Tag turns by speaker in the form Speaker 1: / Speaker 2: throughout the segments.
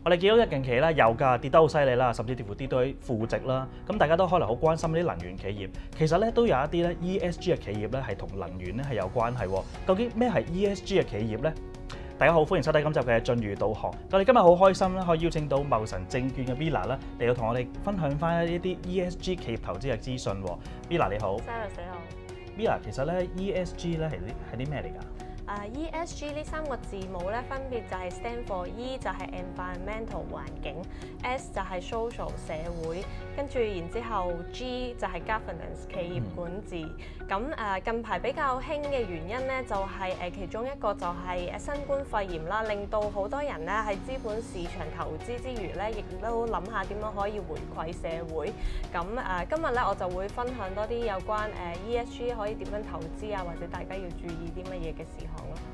Speaker 1: 我哋見到近期咧油價跌得好犀利啦，甚至乎跌到去負值啦。咁大家都可能好關心啲能源企業，其實咧都有一啲咧 ESG 嘅企業咧係同能源咧係有關係喎。究竟咩係 ESG 嘅企業咧？大家好，歡迎收睇今集嘅進裕導航。我哋今日好開心啦，可以邀請到茂臣證券嘅 Villa 啦嚟到同我哋分享翻一啲 ESG 企業投資嘅資訊。Villa 你好
Speaker 2: ，Sarah 你好。
Speaker 1: Villa 其實咧 ESG 咧係啲咩嚟㗎？
Speaker 2: ESG 呢三個字母咧，分別就係 stand for E 就係 environmental 環境 ，S 就係 social 社會，跟住然之後 G 就係 governance 企業管治。咁近排比較興嘅原因咧，就係其中一個就係新冠肺炎啦，令到好多人咧喺資本市場投資之餘咧，亦都諗下點樣可以回饋社會。咁今日咧我就會分享多啲有關ESG 可以點樣投資啊，或者大家要注意啲乜嘢嘅事項咯。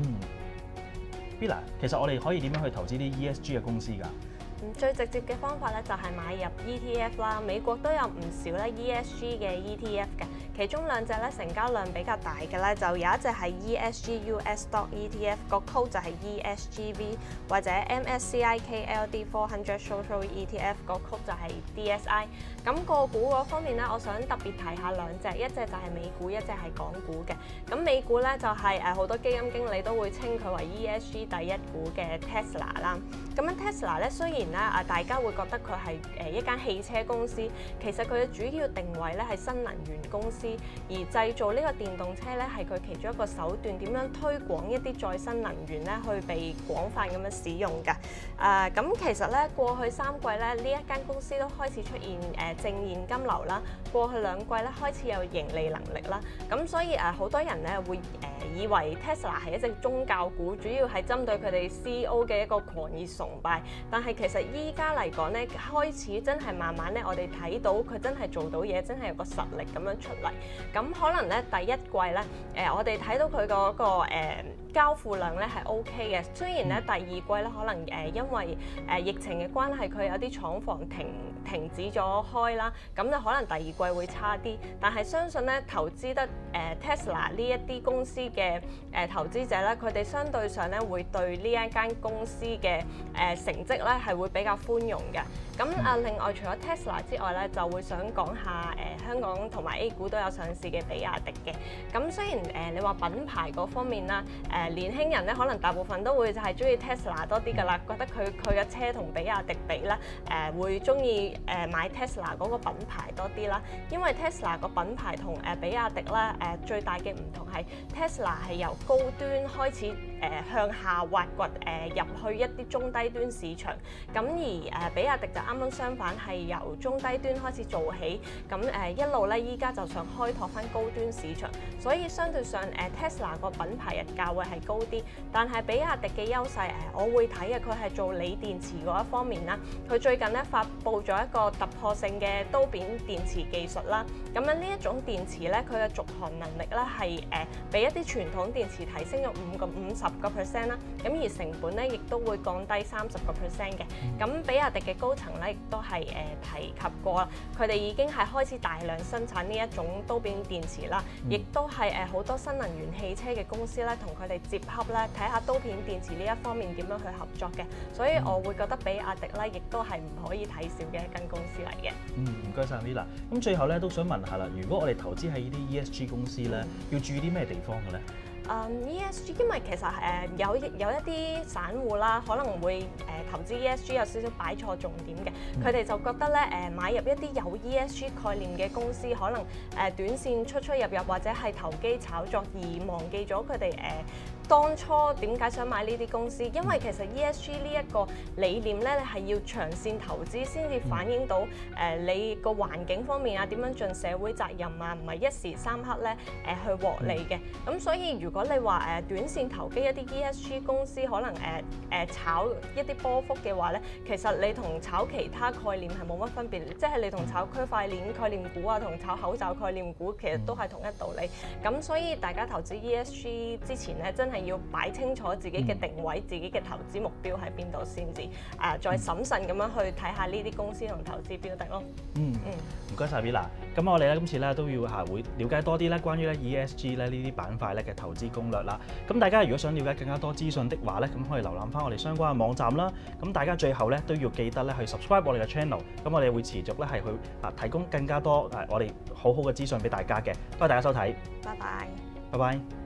Speaker 1: Villa， 其實我哋可以點樣去投資啲 ESG 嘅公司㗎？
Speaker 2: 最直接嘅方法咧就係買入 ETF 啦，美國都有唔少咧 ESG 嘅 ETF 嘅，其中兩隻咧成交量比較大嘅咧就有一隻係 ESG US Stock ETF， 個 code 就係 ESGV， 或者 MSCI KLD 400 Social ETF， 個 code 就係 DSI。咁個股嗰方面咧，我想特別提下兩隻，一隻就係美股，一隻係港股嘅。咁美股咧就係好多基金經理都會稱佢為 ESG 第一股嘅 Tesla 啦。咁樣 Tesla 咧雖然咧大家會覺得佢係一間汽車公司，其實佢嘅主要定位咧係新能源公司，而製造呢個電動車咧係佢其中一個手段，點樣推廣一啲再生能源咧去被廣泛咁樣使用嘅。咁其實咧過去3季咧呢一間公司都開始出現正現金流啦，過去2季咧開始有盈利能力啦。咁所以好多人咧會以為 Tesla 係一隻宗教股，主要係針對佢哋 CEO 嘅一個狂熱崇拜。但係其實依家嚟講咧，開始真係慢慢咧，我哋睇到佢真係做到嘢，真係有個實力咁樣出嚟。咁可能咧第一季咧，我哋睇到佢嗰個交付量咧係 OK 嘅。雖然咧第二季咧可能因為疫情嘅關係，佢有啲廠房停止咗開啦，咁就可能第二季會差啲。但係相信咧投資得Tesla 呢一啲公司嘅投資者咧，佢哋相對上咧會對呢一間公司嘅成績咧係會比較寬容嘅。咁另外除咗 Tesla 之外咧，就會想講下香港同埋 A 股都有上市嘅比亞迪嘅。咁雖然你話品牌嗰方面啦，年輕人咧可能大部分都會就係中意 Tesla 多啲㗎啦，覺得佢嘅車同比亞迪比咧，會中意買 Tesla 嗰個品牌多啲啦。因為 Tesla 個品牌同比亞迪咧最大嘅唔同係 Tesla 係由高端開始向下挖掘入去一啲中低端市場，咁而比亞迪就啱啱相反，係由中低端開始做起，咁一路咧依家就想開拓翻高端市場，所以相對上Tesla 個品牌日價會係高啲，但係比亞迪嘅優勢我會睇嘅，佢係做鋰電池嗰一方面啦。佢最近咧發布咗一個突破性嘅刀片電池技術啦，咁樣呢一種電池咧，佢嘅續航能力咧係比一啲傳統電池提升咗50%啦，咁而成本咧亦都會降低30%嘅。咁比亞迪嘅高層咧亦都係提及過啦，佢哋已經係開始大量生產呢一種刀片電池啦，亦都係好多新能源汽車嘅公司咧同佢哋接洽咧，睇下刀片電池呢一方面點樣去合作嘅。所以我會覺得比亞迪咧亦都係唔可以睇少嘅一間公司嚟嘅。
Speaker 1: 唔該晒 Villa。咁最後咧都想問下啦，如果我哋投資喺呢啲 ESG 公司咧，要注意啲咩地方嘅咧
Speaker 2: ？ESG 因為其實有一啲散戶啦，可能會投資 ESG 有少少擺錯重點嘅，佢哋就覺得咧買入一啲有 ESG 概念嘅公司，可能短線出入或者係投機炒作，而忘記咗佢哋當初點解想買呢啲公司？因為其實 ESG 呢一個理念咧，係要長線投資先至反映到你個環境方面啊，點樣盡社會責任啊，唔係一時三刻咧去獲利嘅。咁所以如果你話短線投機一啲 ESG 公司，可能炒一啲波幅嘅話咧，其實你同炒其他概念係冇乜分別，即係你同炒區塊鏈概念股啊，同炒口罩概念股其實都係同一道理。咁所以大家投資 ESG 之前咧，真係係要擺清楚自己嘅定位、自己嘅投資目標喺邊度先至再審慎咁樣去睇下呢啲公司同投資標的咯。
Speaker 1: 唔該晒 Villa。咁我哋咧今次咧都要會了解多啲咧關於咧 ESG 咧呢啲板塊咧嘅投資攻略啦。咁大家如果想了解更加多資訊的話咧，咁可以瀏覽翻我哋相關嘅網站啦。咁大家最後咧都要記得咧去 subscribe 我哋嘅 channel。咁我哋會持續咧係去提供更加多我哋好好嘅資訊俾大家嘅。多謝大家收睇，
Speaker 2: 拜拜。
Speaker 1: 拜拜。